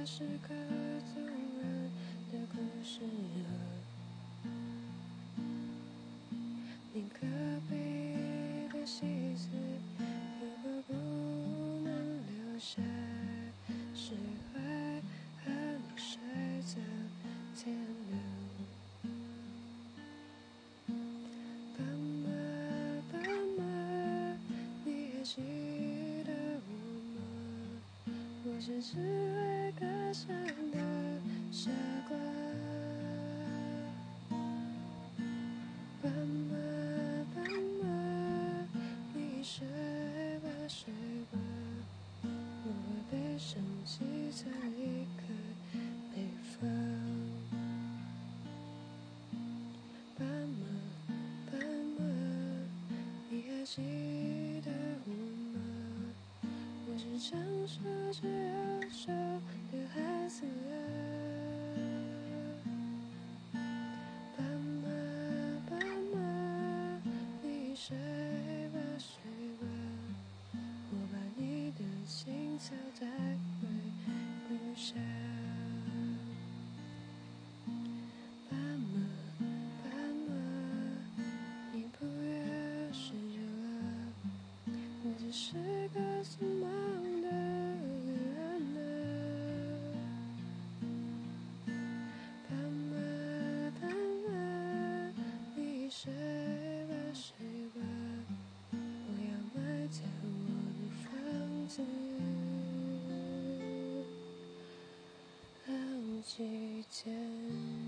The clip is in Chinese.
是个动人的故事你隔壁的戏子，如果不能留下，释怀和你睡到天亮。斑马，斑马，你还记得我吗？我是只会歌唱的傻瓜。斑马，斑马，你睡吧睡吧，我会背上吉他离开北方。斑马，斑马，你还记得我吗？我是长手指右手的孩子啊。斑马，斑马，你睡吧睡吧，我把你的青草带回故乡。斑马，斑马，你不要睡着了，我只是个匆忙的旅人啊。斑马，斑马，你睡吧睡吧，我要卖掉我的房子，好几天。